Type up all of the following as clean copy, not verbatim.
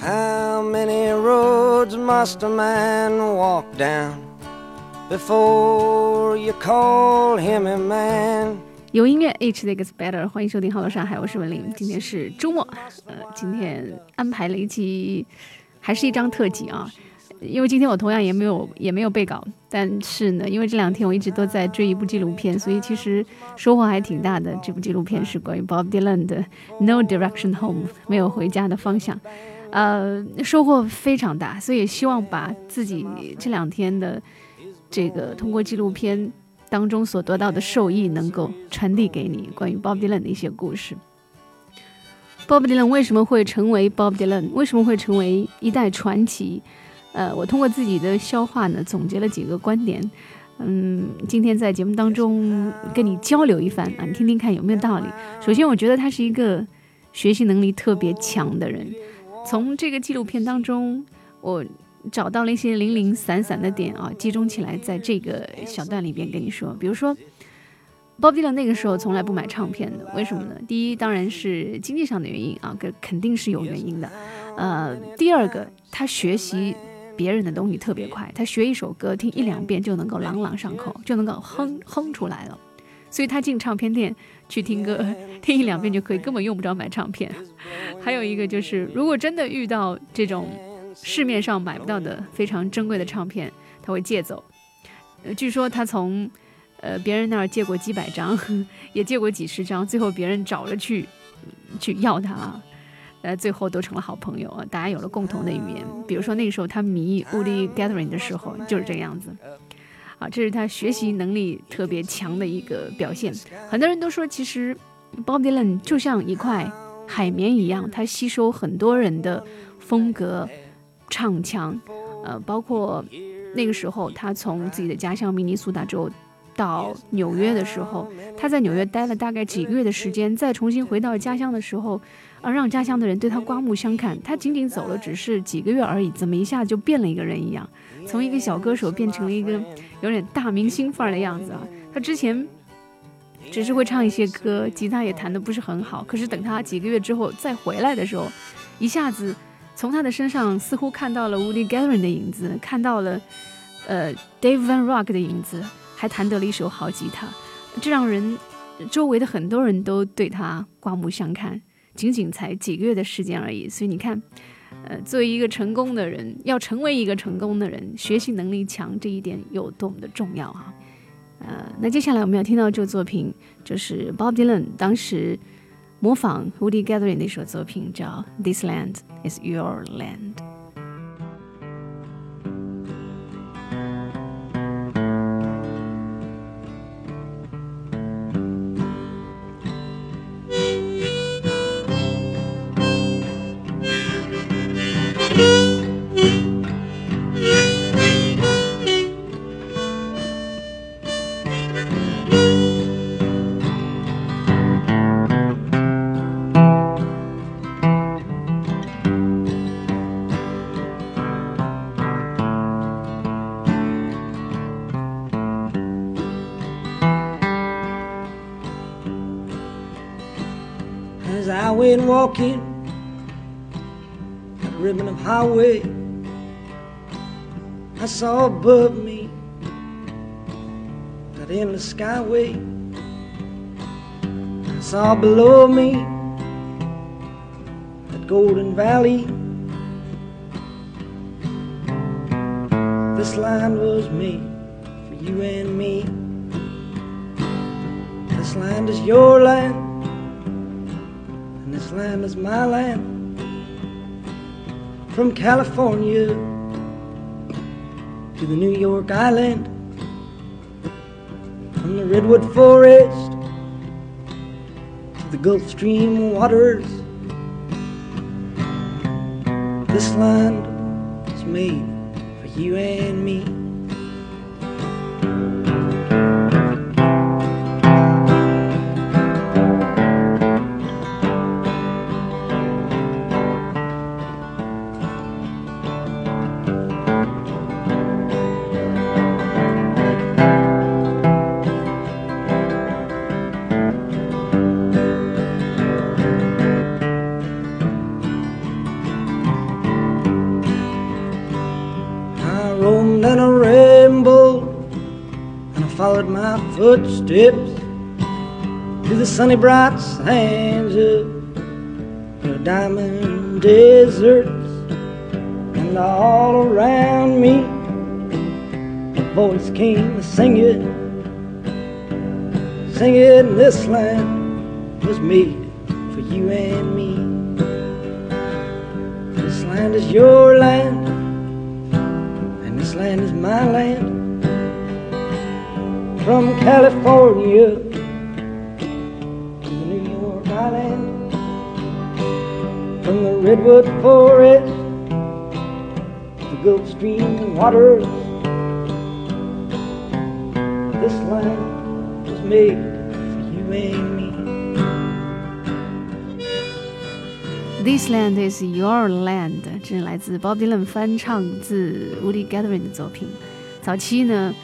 How many roads must a man walk down before you call him a man? 有音乐 Each Day Gets Better， 欢迎收听Hello上海，我是文玲。今天是周末，今天安排了一期，还是一张特辑啊。因为今天我同样也没有备稿，但是呢，因为这2天我一直都在追一部纪录片，所以其实收获还挺大的。这部纪录片是关于 Bob Dylan 的 No Direction Home， 没有回家的方向，收获非常大，所以希望把自己这2天的这个通过纪录片当中所得到的受益能够传递给你关于 Bob Dylan 的一些故事。Bob Dylan 为什么会成为 Bob Dylan？ 为什么会成为一代传奇？我通过自己的消化呢，总结了几个观点。今天在节目当中跟你交流一番啊，你听听看有没有道理。首先，我觉得他是一个学习能力特别强的人。从这个纪录片当中，我找到了一些零零散散的点啊，集中起来在这个小段里边跟你说。比如说 Bob Dylan 那个时候从来不买唱片的，为什么呢？第一当然是经济上的原因啊，肯定是有原因的。第二个，他学习别人的东西特别快，他学一首歌听1-2遍就能够朗朗上口，就能够哼出来了。所以他进唱片店去听歌，听1-2遍就可以，根本用不着买唱片。还有一个就是，如果真的遇到这种市面上买不到的非常珍贵的唱片，他会借走。据说他从别人那儿借过几百张，也借过几十张，最后别人找了去要他，最后都成了好朋友啊，大家有了共同的语言。比如说那个时候他迷 Woody Guthrie 的时候就是这个样子。这是他学习能力特别强的一个表现。很多人都说，其实 Bob Dylan 就像一块海绵一样，他吸收很多人的风格、唱腔，包括那个时候他从自己的家乡明尼苏达州到纽约的时候，他在纽约待了大概几个月的时间，再重新回到家乡的时候，让家乡的人对他刮目相看。他仅仅走了只是几个月而已，怎么一下就变了一个人一样，从一个小歌手变成了一个有点大明星范儿的样子啊。他之前只是会唱一些歌，吉他也弹得不是很好，可是等他几个月之后再回来的时候，一下子从他的身上似乎看到了 Woody Guthrie 的影子，看到了Dave Van Ronk 的影子，还弹得了一手好吉他，这让人周围的很多人都对他刮目相看，仅仅才几个月的时间而已。所以你看，作为一个成功的人，要成为一个成功的人，学习能力强这一点有多么的重要啊！那接下来我们要听到这个作品，就是 Bob Dylan 当时模仿 Woody Guthrie 那首作品，叫 This Land is Your Land。As I went walking that ribbon of highway, I saw above me that endless skyway. I saw below me that golden valley. This land was made for you and me. This land is your land, and this land is my land. From California to the New York Island, from the redwood forest to the Gulf Stream waters, this land is made for you and me. followed my footsteps to the sunny bright sands of the diamond deserts, and all around me a voice came singing, singing, this land was made for you and me. This land is your land, and this land is my land. From California to the New York Island, from the redwood forest to the Gulf Stream waters, this land was made for you and me. This land is your land， 这是来自 Bob Dylan 翻唱自 Woody Guthrie 的作品。早期呢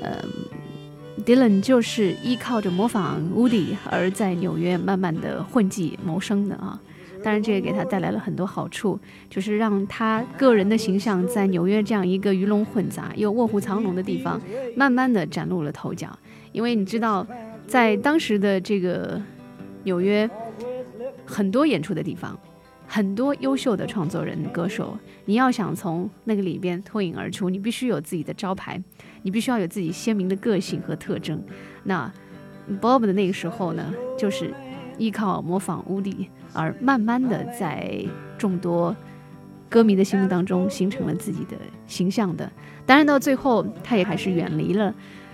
Dylan 就是依靠着模仿 Woody 而在纽约慢慢的混迹谋生的啊。当然这也给他带来了很多好处，就是让他个人的形象在纽约这样一个鱼龙混杂又卧虎藏龙的地方慢慢的崭露了头角。因为你知道在当时的这个纽约很多演出的地方，很多优秀的创作人歌手，你要想从那个里边脱颖而出，你必须有自己的招牌，你必须要有自己鲜明的个性和特征。那 Bob 的那个时候呢，就是依靠模仿 Woody 而慢慢的在众多歌迷的心目当中形成了自己的形象的。当然到最后他也还是远离了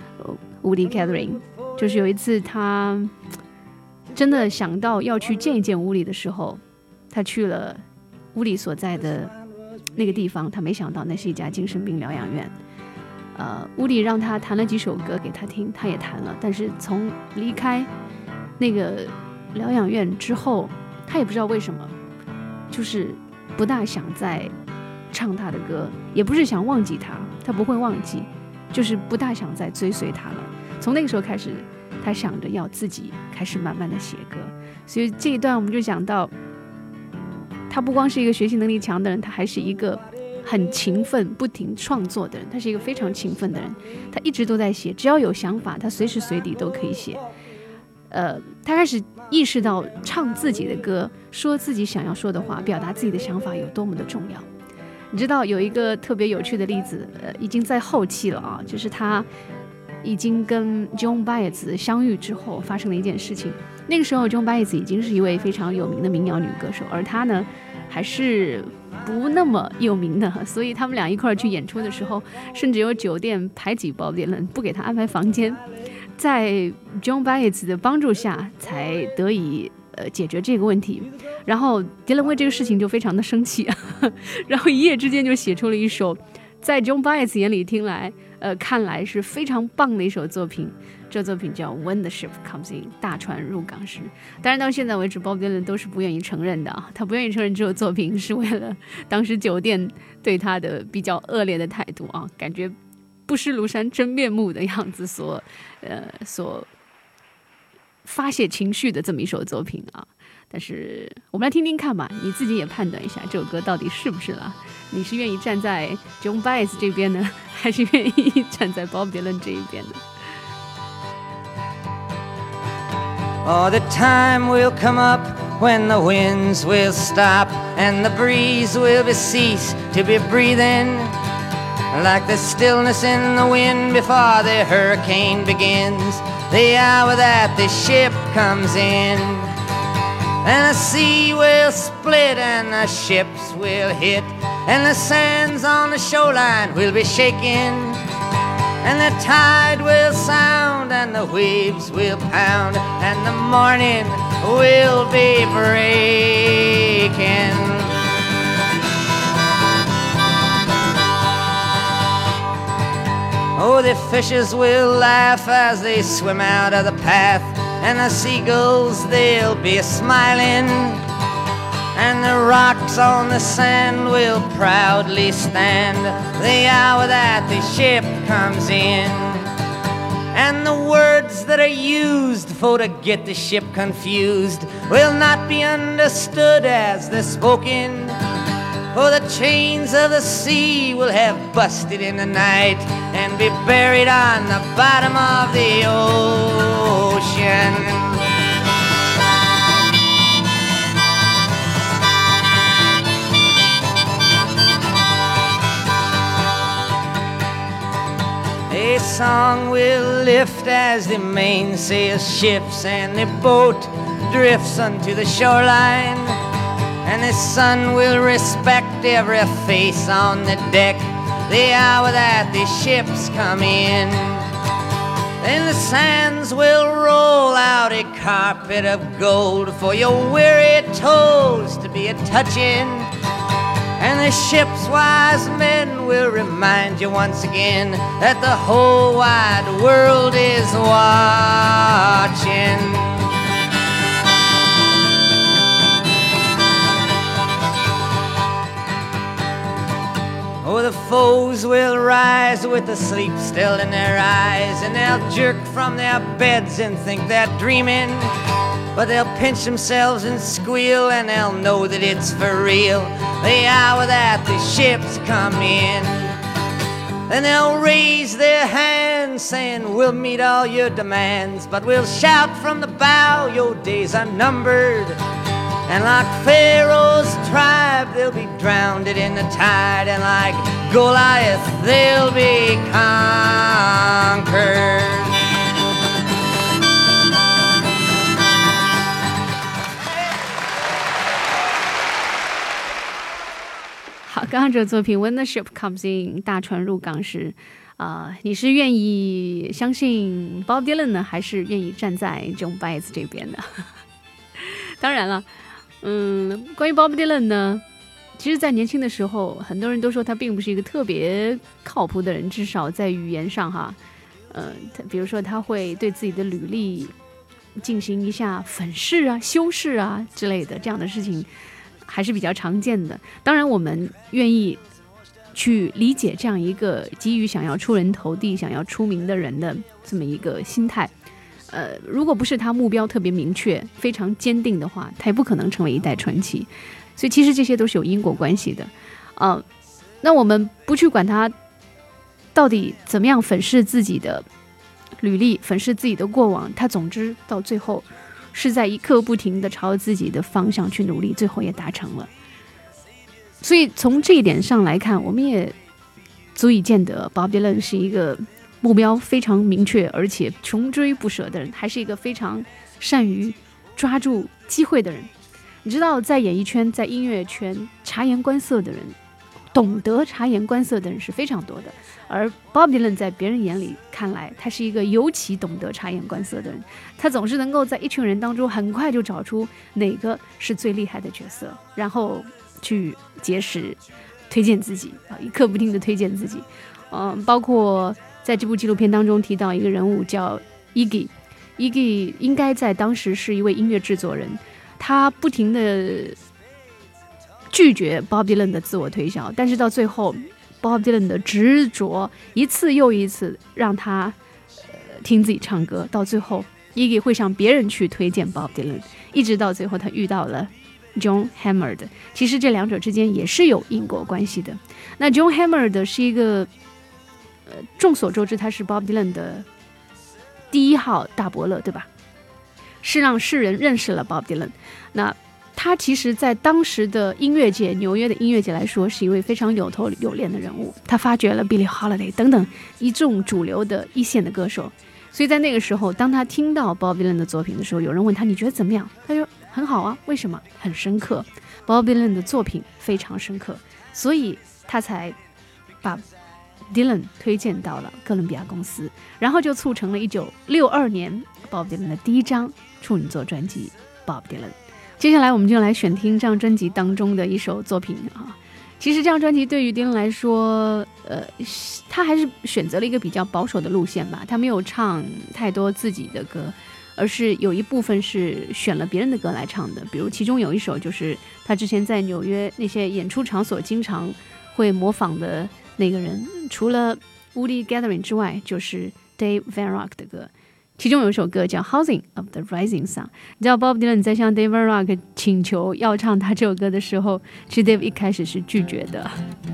Woody Guthrie， 就是有一次他真的想到要去见一见Woody的时候，他去了Woody所在的那个地方，他没想到那是一家精神病疗养院。Woody让他弹了几首歌给他听，他也弹了，但是从离开那个疗养院之后，他也不知道为什么，就是不大想再唱他的歌，也不是想忘记他，他不会忘记，就是不大想再追随他了。从那个时候开始，他想着要自己开始慢慢的写歌。所以这一段我们就讲到，他不光是一个学习能力强的人，他还是一个很勤奋不停创作的人，他是一个非常勤奋的人，他一直都在写，只要有想法他随时随地都可以写。他开始意识到唱自己的歌，说自己想要说的话，表达自己的想法有多么的重要。你知道有一个特别有趣的例子，已经在后期了啊，就是他已经跟 Joan Baez 相遇之后发生了一件事情。那个时候 Joan Baez 已经是一位非常有名的民谣女歌手，而他呢还是不那么有名的，所以他们俩一块儿去演出的时候，甚至有酒店排挤Bob Dylan，不给他安排房间。在 Joan Baez 的帮助下才得以解决这个问题，然后 Dylan 为这个事情就非常的生气然后一夜之间就写出了一首在 Joan Baez 眼里看来是非常棒的一首作品，这作品叫 When the Ship Comes In， 大船入港时。当然到现在为止 Bob Dylan 都是不愿意承认的啊，他不愿意承认这首作品是为了当时酒店对他的比较恶劣的态度啊，感觉不识庐山真面目的样子所发泄情绪的这么一首作品啊。但是我们来听听看吧，你自己也判断一下这首歌到底是不是啦，你是愿意站在 Joan Baez 这边呢，还是愿意站在 Bob Dylan 这一边呢 Oh, the time will come up when the winds will stop and the breeze will cease to be breathing, like the stillness in the wind before the hurricane begins, the hour that the ship comes in. And the sea will split and the ships will hit, and the sands on the shoreline will be shaking, and the tide will sound and the waves will pound, and the morning will be breaking. Oh, the fishes will laugh as they swim out of the path, and the seagulls, they'll be smiling, and the rocks on the sand will proudly stand the hour that the ship comes in. And the words that are used for to get the ship confused will not be understood as they're spoken, For the chains of the sea will have busted in the night and be buried on the bottom of the ocean. A song will lift as the mainsail shifts and the boat drifts unto the shoreline, and the sun will respect every face on the deck the hour that the ships come in. Then the sands will roll out a carpet of gold for your weary toes to be a-touching, and the ship's wise men will remind you once again that the whole wide world is watching. Oh, the foes will rise with the sleep still in their eyes, and they'll jerk from their beds and think they're dreaming, but they'll pinch themselves and squeal, and they'll know that it's for real the hour that the ships come in. Then they'll raise their hands saying, we'll meet all your demands, but we'll shout from the bow, your days are numbered. And like Pharaoh's tribe, they'll be drowned in the tide, and like Goliath, they'll be conquered. 好，刚刚这个作品 When the Ship Comes In 大船入港时你是愿意相信 Bob Dylan 呢，还是愿意站在 Joan Baez 这边的？当然了，关于 Bob Dylan 呢，其实在年轻的时候很多人都说他并不是一个特别靠谱的人，至少在语言上哈，比如说他会对自己的履历进行一下粉饰啊、修饰啊之类的，这样的事情还是比较常见的。当然我们愿意去理解这样一个急于想要出人头地、想要出名的人的这么一个心态。如果不是他目标特别明确、非常坚定的话，他也不可能成为一代传奇。所以其实这些都是有因果关系的。那我们不去管他到底怎么样粉饰自己的履历、粉饰自己的过往，他总之到最后是在一刻不停地朝自己的方向去努力，最后也达成了。所以从这一点上来看，我们也足以见得 Bob Dylan 是一个目标非常明确而且穷追不舍的人，还是一个非常善于抓住机会的人。你知道在演艺圈、在音乐圈察言观色的人，懂得察言观色的人是非常多的，而 Bob Dylan 在别人眼里看来，他是一个尤其懂得察言观色的人。他总是能够在一群人当中很快就找出哪个是最厉害的角色，然后去结识推荐自己，一刻不停地推荐自己。包括在这部纪录片当中提到一个人物叫 Iggy 应该在当时是一位音乐制作人，他不停地拒绝 Bob Dylan 的自我推销，但是到最后 Bob Dylan 的执着一次又一次让他听自己唱歌，到最后 Iggy 会向别人去推荐 Bob Dylan， 一直到最后他遇到了 John Hammond。 其实这两者之间也是有因果关系的。那 John Hammond 是一个众所周知他是 Bob Dylan 的第一号大伯乐，对吧？是让世人认识了 Bob Dylan。 那他其实在当时的音乐界，纽约的音乐界来说是一位非常有头有脸的人物，他发掘了 Billie Holiday 等等一众主流的一线的歌手。所以在那个时候，当他听到 Bob Dylan 的作品的时候，有人问他你觉得怎么样，他说很好啊。为什么？很深刻， Bob Dylan 的作品非常深刻，所以他才把 Dylan 推荐到了哥伦比亚公司，然后就促成了1962年 Bob Dylan 的第一张处女作专辑 Bob Dylan。 接下来我们就来选听这张专辑当中的一首作品啊。其实这张专辑对于 Dylan 来说，他还是选择了一个比较保守的路线吧，他没有唱太多自己的歌，而是有一部分是选了别人的歌来唱的。比如其中有一首就是他之前在纽约那些演出场所经常会模仿的那个人，除了 Woody Guthrie 之外，就是 Dave Van Ronk 的歌， 其中有一首歌叫 Housing of the Rising Sun。 你知道 Bob Dylan 在向 David Rock 请求要唱他这首歌的时候，其实 Dave 一开始是拒绝的。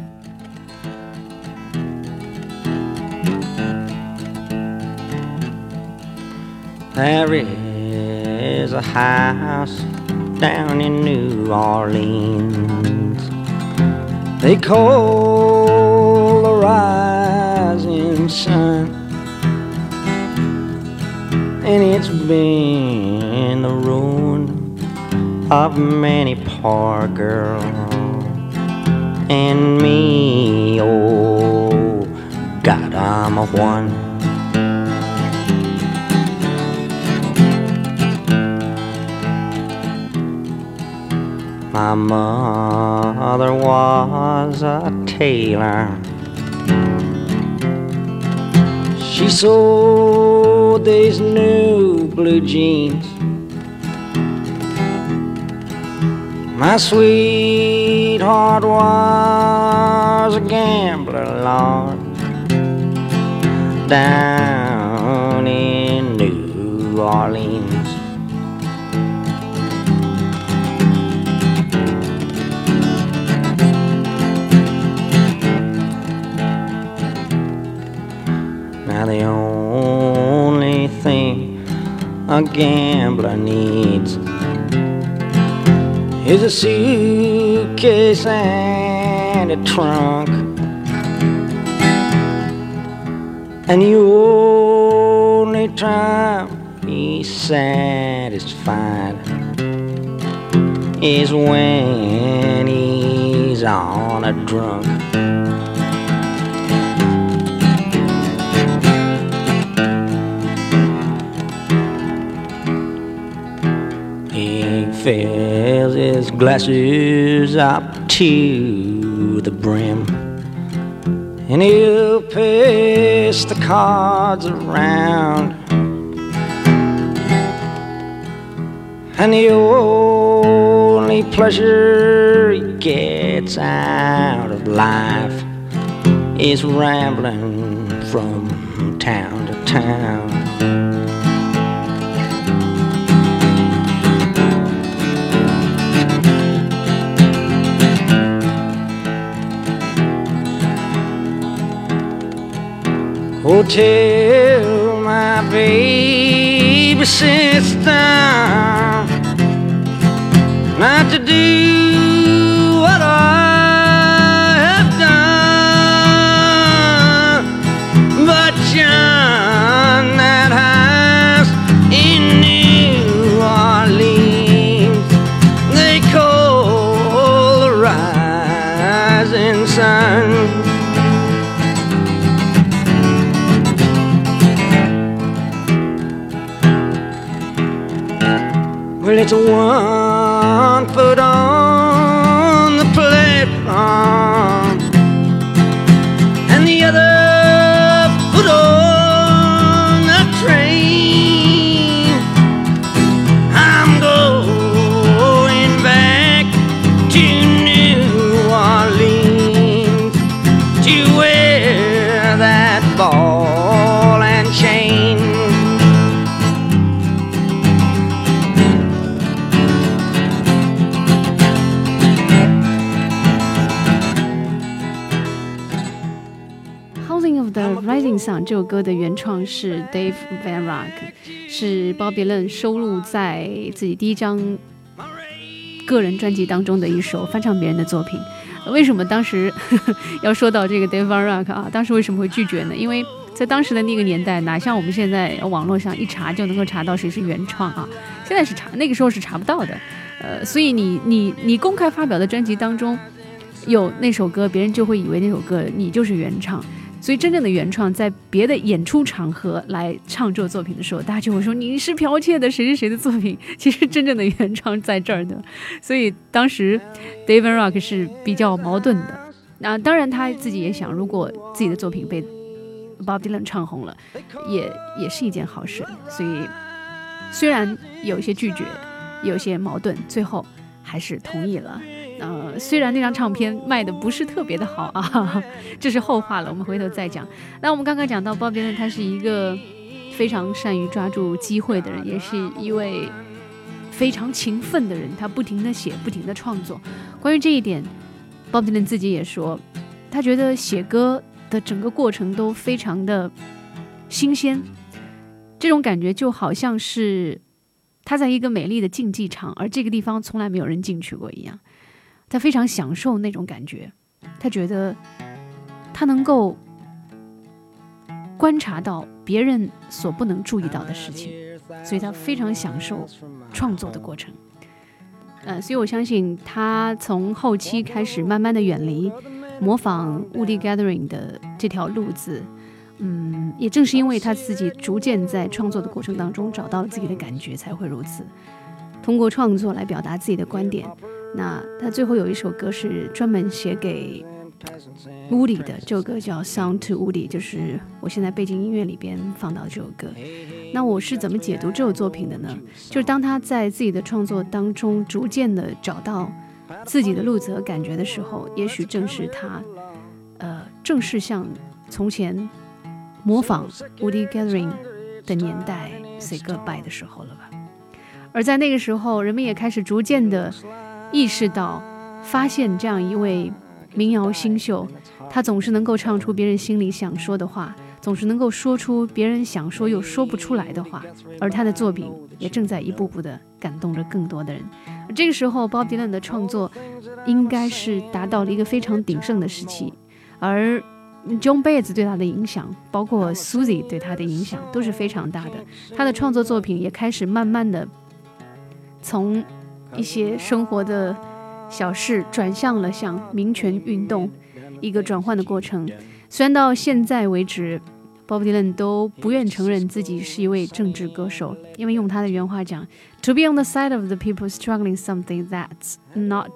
There is a house down in New Orleans they call the rising sun, and it's been the ruin of many poor girls and me. Oh God, I'm a one. My mother was a tailor. She sewed these new blue jeans. My sweetheart was a gambler, Lord, down in New Orleans. Now the only thing a gambler needs is a suitcase and a trunk, and the only time he's satisfied is when he's on a drunk. He fills his glasses up to the brim, and he'll pass the cards around, and the only pleasure he gets out of life is rambling from town to town. Oh, tell my baby sister not to do what I have done, but shun that house in New Orleans they call the rising sun. Well, it's 1 foot on the platform and the other foot on the train. I'm going back to New Orleans to wear that ball and chain. The Rising Sun 这首歌的原创是 Dave Van Ronk， 是 Bob Dylan 收录在自己第一张个人专辑当中的一首翻唱别人的作品。为什么当时要说到这个 Dave Van Ronk 啊？当时为什么会拒绝呢？因为在当时的那个年代，哪像我们现在网络上一查就能够查到谁是原创啊？现在是查，那个时候是查不到的。所以你公开发表的专辑当中有那首歌，别人就会以为那首歌你就是原唱。所以真正的原创在别的演出场合来唱这首作品的时候，大家就会说你是剽窃的谁是谁的作品，其实真正的原创在这儿的。所以当时 David Rock 是比较矛盾的。那当然他自己也想，如果自己的作品被 Bob Dylan 唱红了，也是一件好事。所以虽然有一些拒绝，有一些矛盾，最后还是同意了。虽然那张唱片卖的不是特别的好啊，这是后话了，我们回头再讲。那我们刚刚讲到 Bob Dylan 他是一个非常善于抓住机会的人，也是一位非常勤奋的人，他不停地写，不停地创作。关于这一点 Bob Dylan 自己也说，他觉得写歌的整个过程都非常的新鲜，这种感觉就好像是他在一个美丽的竞技场，而这个地方从来没有人进去过一样。他非常享受那种感觉，他觉得他能够观察到别人所不能注意到的事情，所以他非常享受创作的过程。所以我相信他从后期开始慢慢的远离模仿 Woody Guthrie 的这条路子，也正是因为他自己逐渐在创作的过程当中找到了自己的感觉，才会如此通过创作来表达自己的观点。那他最后有一首歌是专门写给 Woody 的，这首歌叫 Sound to Woody， 就是我现在背景音乐里边放到这首歌。那我是怎么解读这首作品的呢？就是当他在自己的创作当中逐渐的找到自己的路子和感觉的时候，也许正是他正是像从前模仿 Woody Guthrie 的年代 say goodbye 的时候了吧。而在那个时候，人们也开始逐渐的意识到，发现这样一位民谣新秀，他总是能够唱出别人心里想说的话，总是能够说出别人想说又说不出来的话，而他的作品也正在一步步的感动着更多的人。而这个时候 Bob Dylan 的创作应该是达到了一个非常鼎盛的时期，而John Baez 对他的影响，包括 Susie 对他的影响都是非常大的。他的创作作品也开始慢慢的从一些生活的小事转向了像民权运动一个转换的过程。虽然到现在为止 Bob Dylan 都不愿承认自己是一位政治歌手，因为用他的原话讲 To be on the side of the people struggling something that's not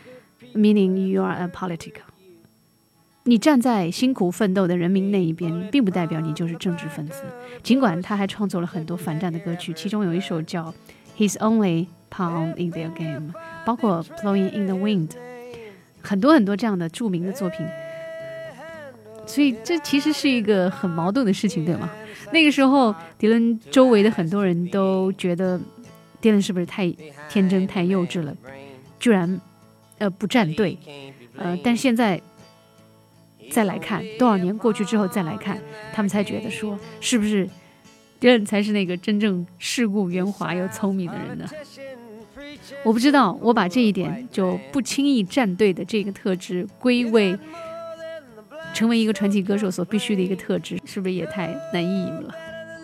meaning you are a political， 你站在辛苦奋斗的人民那一边，并不代表你就是政治分子。尽管他还创作了很多反战的歌曲，其中有一首叫 His Only Pawn in Their Game， 包括 Blowing in the Wind， 很多很多这样的著名的作品。所以这其实是一个很矛盾的事情，对吗？那个时候迪伦周围的很多人都觉得迪伦是不是太天真太幼稚了，居然不站队。但现在再来看，多少年过去之后再来看，他们才觉得说，是不是迪伦才是那个真正世故圆滑又聪明的人呢？我不知道，我把这一点就不轻易站队的这个特质归为成为一个传奇歌手所必须的一个特质，是不是也太naive了？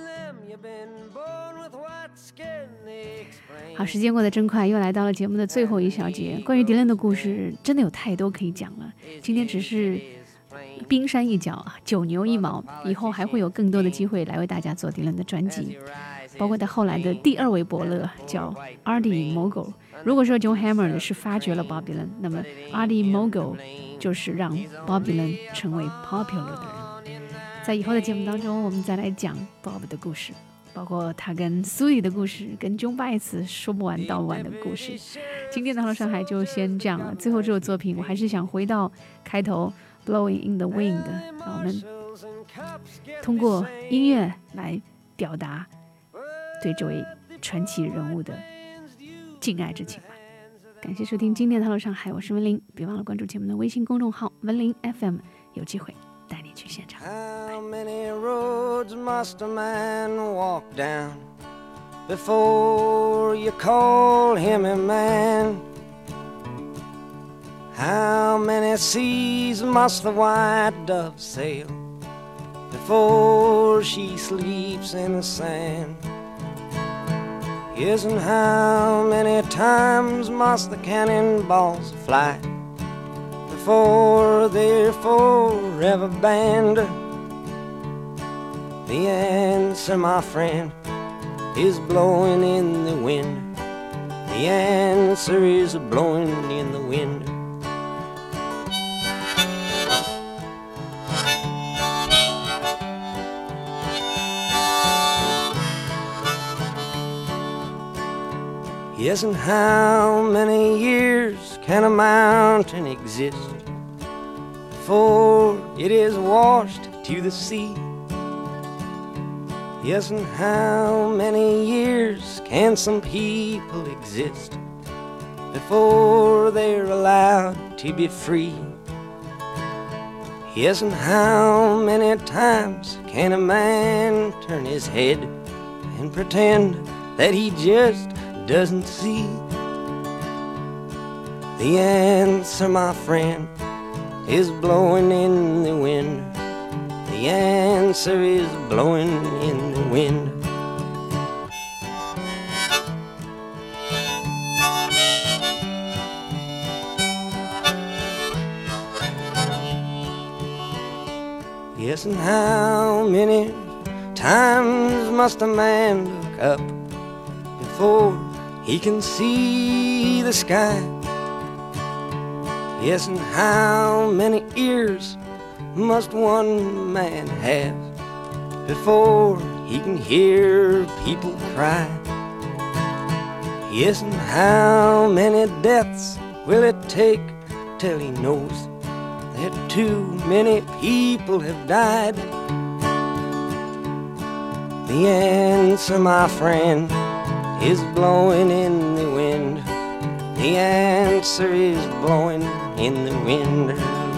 好，时间过得真快，又来到了节目的最后一小节。关于迪伦的故事真的有太多可以讲了，今天只是冰山一角，九牛一毛，以后还会有更多的机会来为大家做迪伦的专辑，包括他后来的第二位伯乐叫 Artie Mogul。 如果说 John Hammond 是发掘了 Bob Dylan， 那么 Artie Mogul 就是让 Bob Dylan 成为 popular 的人。在以后的节目当中，我们再来讲 Bob 的故事，包括他跟 Susie 的故事，跟 John Baez 说不完道不完的故事。今天的Hello上海就先这样了。最后这首作品我还是想回到开头 Blowing in the Wind， 让我们通过音乐来表达对这位传奇人物的敬爱之情吧。感谢收听今天的 Hello 上海，我是文玲，别忘了关注节目的微信公众号文玲 FM， 有机会带你去现场。 How many roads must a man walk down before you call him a man? How many seas must the white dove sail before she sleeps in the sand? Yes, and how many times must the cannonballs fly before they're forever banned? The answer, my friend, is blowing in the wind. The answer is blowing in the wind. Yes, and how many years can a mountain exist before it is washed to the sea? Yes, and how many years can some people exist before they're allowed to be free? Yes, and how many times can a man turn his head and pretend that he just doesn't see? The answer, my friend, is blowing in the wind. The answer is blowing in the wind. Yes, and how many times must a man look up before he can see the sky? Yes, and how many ears must one man have before he can hear people cry? Yes, and how many deaths will it take till he knows that too many people have died? The answer, my friend, is blowing in the wind. The answer is blowing in the wind.